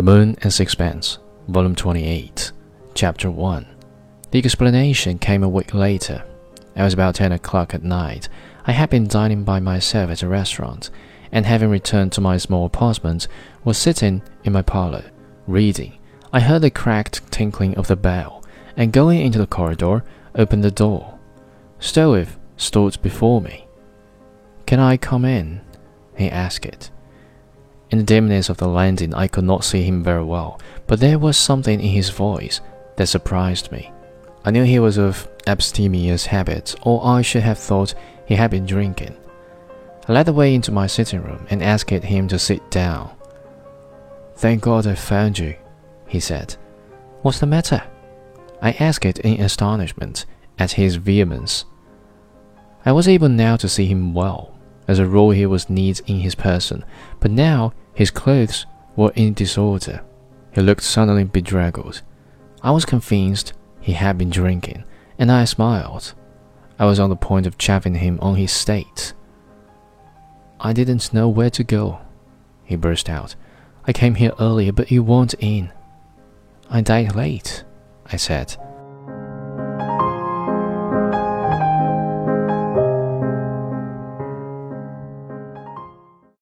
The Moon and Sixpence, Volume 28, Chapter 1. The explanation came a week later. It was about 10 o'clock at night. I had been dining by myself at a restaurant, and having returned to my small apartment, was sitting in my parlour, reading. I heard the cracked tinkling of the bell, and going into the corridor, opened the door. Stroeve stood before me. "Can I come in?" he asked. In the dimness of the landing, I could not see him very well, but there was something in his voice that surprised me. I knew he was of abstemious habits, or I should have thought he had been drinking. I led the way into my sitting room and asked him to sit down. "Thank God I found you," he said. "What's the matter?" I asked in astonishment at his vehemence. I was able now to see him well. As a rule he was neat in his person, but now his clothes were in disorder. He looked suddenly bedraggled. I was convinced he had been drinking, and I smiled. I was on the point of chaffing him on his state. "I didn't know where to go," he burst out. "I came here earlier, but you weren't in." "I dined late," I said.